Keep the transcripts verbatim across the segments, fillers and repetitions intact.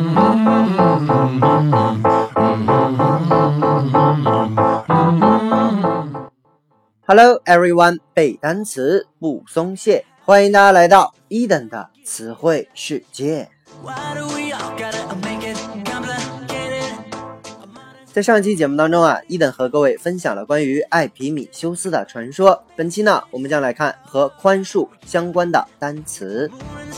Hello everyone， 背单词不松懈，欢迎大家来到 Eden 的词汇世界。在上一期节目当中啊，伊登和各位分享了关于艾皮米修斯的传说。本期呢，我们将来看和宽恕相关的单词。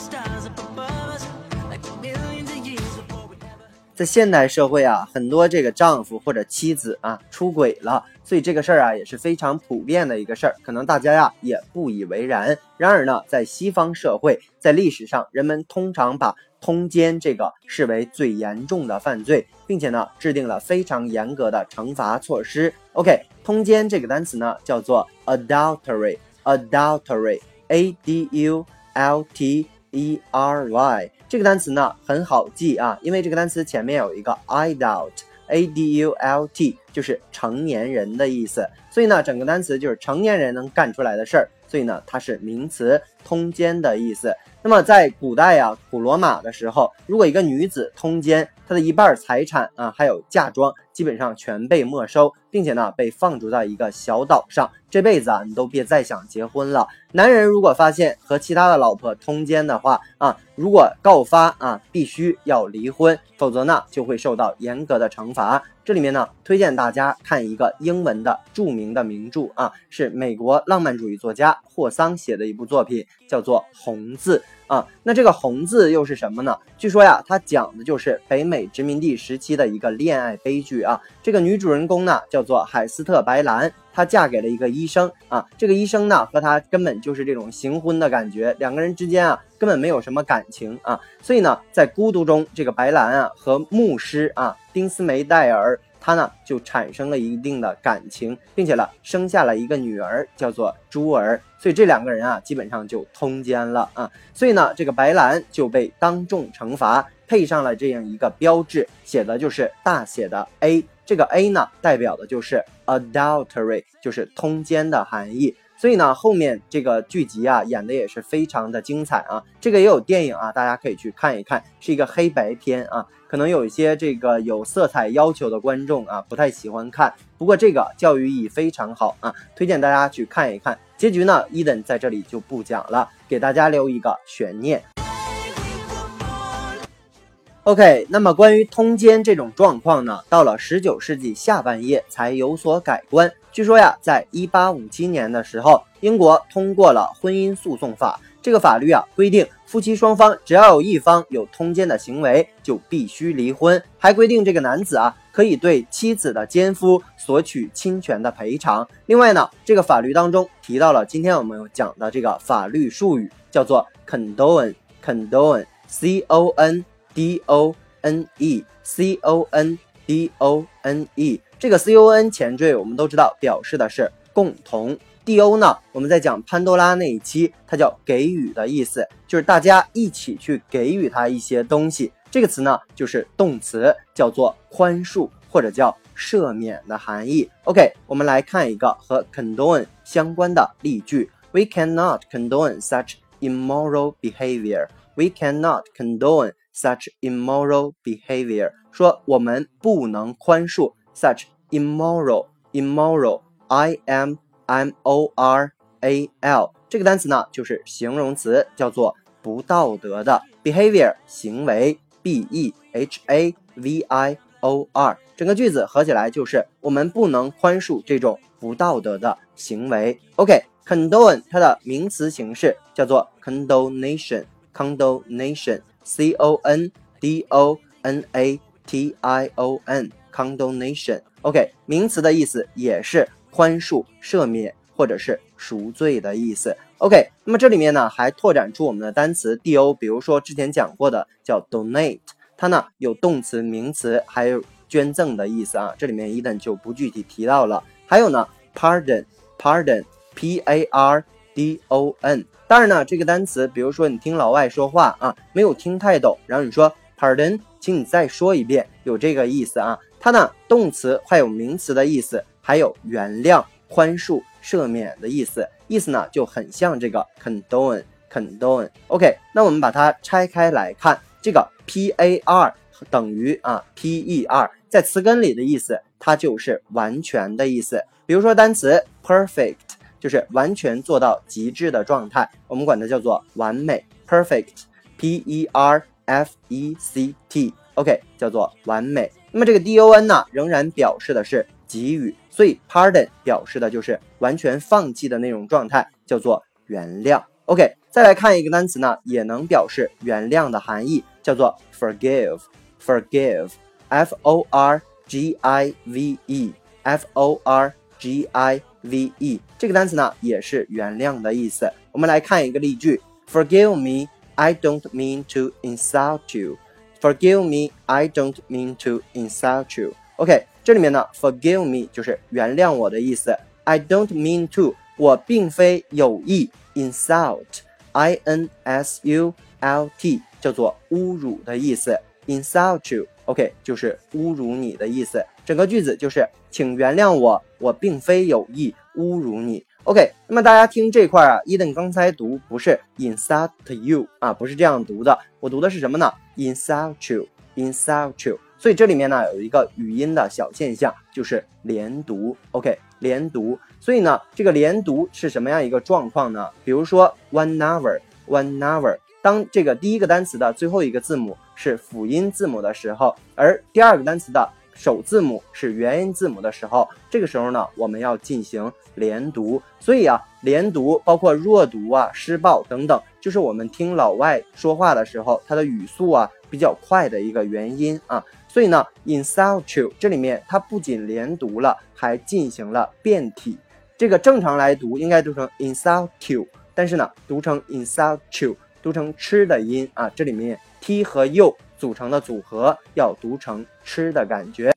在现代社会啊，很多这个丈夫或者妻子啊出轨了，所以这个事儿啊也是非常普遍的一个事儿，可能大家呀也不以为然。然而呢，在西方社会，在历史上，人们通常把通奸这个视为最严重的犯罪，并且呢制定了非常严格的惩罚措施。OK， 通奸这个单词呢叫做 adultery， adultery， A D U L T E R Y。这个单词呢很好记啊，因为这个单词前面有一个 adult， A D U L T， 就是成年人的意思，所以呢整个单词就是成年人能干出来的事儿，所以呢它是名词，通奸的意思。那么在古代啊，古罗马的时候，如果一个女子通奸，她的一半财产啊，还有嫁妆，基本上全被没收，并且呢被放逐到一个小岛上，这辈子啊你都别再想结婚了。男人如果发现和其他的老婆通奸的话啊，如果告发啊，必须要离婚，否则呢就会受到严格的惩罚。这里面呢推荐大家看一个英文的著名的名著啊，是美国浪漫主义作家霍桑写的一部作品，叫做《红字》啊。那这个红字又是什么呢？据说呀，它讲的就是北美殖民地时期的一个恋爱悲剧啊。这个女主人公呢叫做海斯特白兰，她嫁给了一个医生啊，这个医生呢和她根本就是这种行婚的感觉，两个人之间啊根本没有什么感情啊，所以呢在孤独中，这个白兰啊和牧师啊丁斯梅戴尔他呢就产生了一定的感情，并且呢生下了一个女儿叫做朱儿，所以这两个人啊基本上就通奸了啊，所以呢这个白兰就被当众惩罚，配上了这样一个标志，写的就是大写的 A， 这个 A 呢代表的就是 adultery， 就是通奸的含义。所以呢后面这个剧集啊演的也是非常的精彩啊，这个也有电影啊，大家可以去看一看，是一个黑白片啊，可能有一些这个有色彩要求的观众啊不太喜欢看，不过这个教育意义非常好啊，推荐大家去看一看。结局呢伊登在这里就不讲了，给大家留一个悬念。OK， 那么关于通奸这种状况呢，到了十九世纪下半叶才有所改观。据说呀，在一八五七年的时候，英国通过了婚姻诉讼法。这个法律啊规定，夫妻双方只要有一方有通奸的行为，就必须离婚。还规定这个男子啊可以对妻子的奸夫索取侵权的赔偿。另外呢，这个法律当中提到了今天我们有讲的这个法律术语，叫做 condone condone C O N D O N E C O N D O N E， 这个 C O N 前缀我们都知道表示的是共同， D O 呢我们在讲潘多拉那一期，它叫给予的意思，就是大家一起去给予他一些东西。这个词呢就是动词，叫做宽恕或者叫赦免的含义。 OK， 我们来看一个和 condone 相关的例句。 We cannot condone such immoral behavior We cannot condone such immoral behavior， 说我们不能宽恕 such immoral immoral I M M O R A L 这个单词呢就是形容词，叫做不道德的， behavior 行为 B E H A V I O R， 整个句子合起来就是我们不能宽恕这种不道德的行为。 OK， condone 它的名词形式叫做 condonation condonation C O N D O N A T I O N condonation OK， 名词的意思也是宽恕赦免或者是赎罪的意思。 OK， 那么这里面呢还拓展出我们的单词 D O， 比如说之前讲过的叫 donate， 它呢有动词名词还有捐赠的意思啊，这里面伊登就不具体提到了。还有呢 pardon pardon P A R D O N，当然呢这个单词比如说你听老外说话啊没有听太懂，然后你说 pardon 请你再说一遍，有这个意思啊。它呢动词还有名词的意思，还有原谅宽恕赦免的意思，意思呢就很像这个 condone condone OK， 那我们把它拆开来看，这个 P A R 等于啊 per， 在词根里的意思它就是完全的意思。比如说单词 perfect 就是完全做到极致的状态，我们管它叫做完美 perfect P E R F E C T OK 叫做完美。那么这个 don 呢仍然表示的是给予，所以 pardon 表示的就是完全放弃的那种状态，叫做原谅。 OK 再来看一个单词呢也能表示原谅的含义，叫做 forgive forgive F O R G I V E F O R G I V E 这个单词呢也是原谅的意思。我们来看一个例句 Forgive me, I don't mean to insult you Forgive me, I don't mean to insult you OK 这里面呢 forgive me 就是原谅我的意思， I don't mean to 我并非有意 insult I N S U L T 叫做侮辱的意思， insult you OK 就是侮辱你的意思。整个句子就是请原谅我，我并非有意侮辱你。 OK 那么大家听这块啊，伊登刚才读不是 insult you 啊，不是这样读的，我读的是什么呢？ insult you insult you， 所以这里面呢有一个语音的小现象，就是连读 OK 连读。所以呢这个连读是什么样一个状况呢？比如说 one hour one hour， 当这个第一个单词的最后一个字母是辅音字母的时候，而第二个单词的首字母是元音字母的时候，这个时候呢我们要进行连读。所以啊连读包括弱读啊失爆等等，就是我们听老外说话的时候他的语速啊比较快的一个原因啊。所以呢 insult you 这里面它不仅连读了，还进行了变体。这个正常来读应该读成 insult you， 但是呢读成 insult you， 读成吃的音啊，这里面 t 和 u 组成的组合要读成吃的感觉。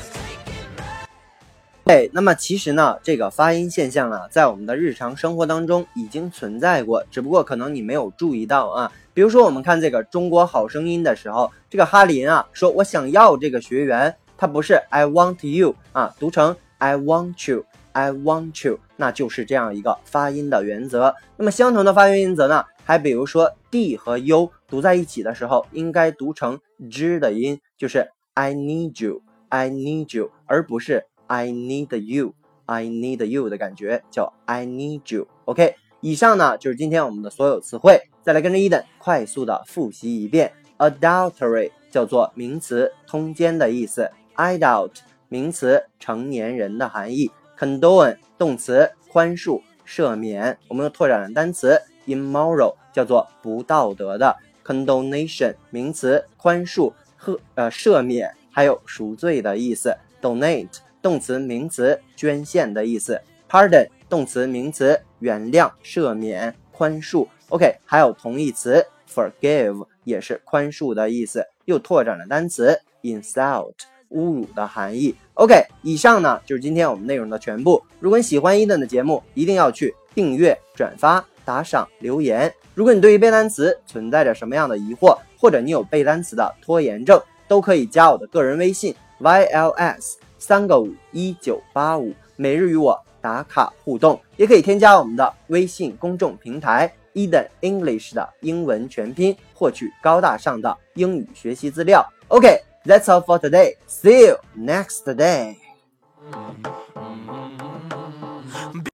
对，那么其实呢这个发音现象啊在我们的日常生活当中已经存在过，只不过可能你没有注意到啊。比如说我们看这个中国好声音的时候，这个哈林啊说我想要这个学员，他不是 I want you 啊，读成 I want you I want you， 那就是这样一个发音的原则。那么相同的发音原则呢还比如说 d 和 u 读在一起的时候应该读成 z 的音，就是 I need you I need you， 而不是 I need you I need you 的感觉，叫 I need you OK 以上呢就是今天我们的所有词汇，再来跟着伊登快速的复习一遍。 Adultery 叫做名词通奸的意思， Adult 名词成年人的含义， Condone 动词宽恕赦免。我们又拓展了单词 immoral 叫做不道德的， Condonation 名词宽恕和呃赦免还有赎罪的意思， Donate 动词名词捐献的意思， Pardon 动词名词原谅赦免宽恕 OK 还有同义词 forgive 也是宽恕的意思，又拓展了单词 insult 侮辱的含义。 OK 以上呢就是今天我们内容的全部。如果你喜欢伊登的节目，一定要去订阅转发打赏留言。如果你对于背单词存在着什么样的疑惑，或者你有背单词的拖延症，都可以加我的个人微信 Y L S 三个五一九八五，每日与我打卡互动，也可以添加我们的微信公众平台 Eden English 的英文全拼，获取高大上的英语学习资料。 OK That's all for today. See you next day.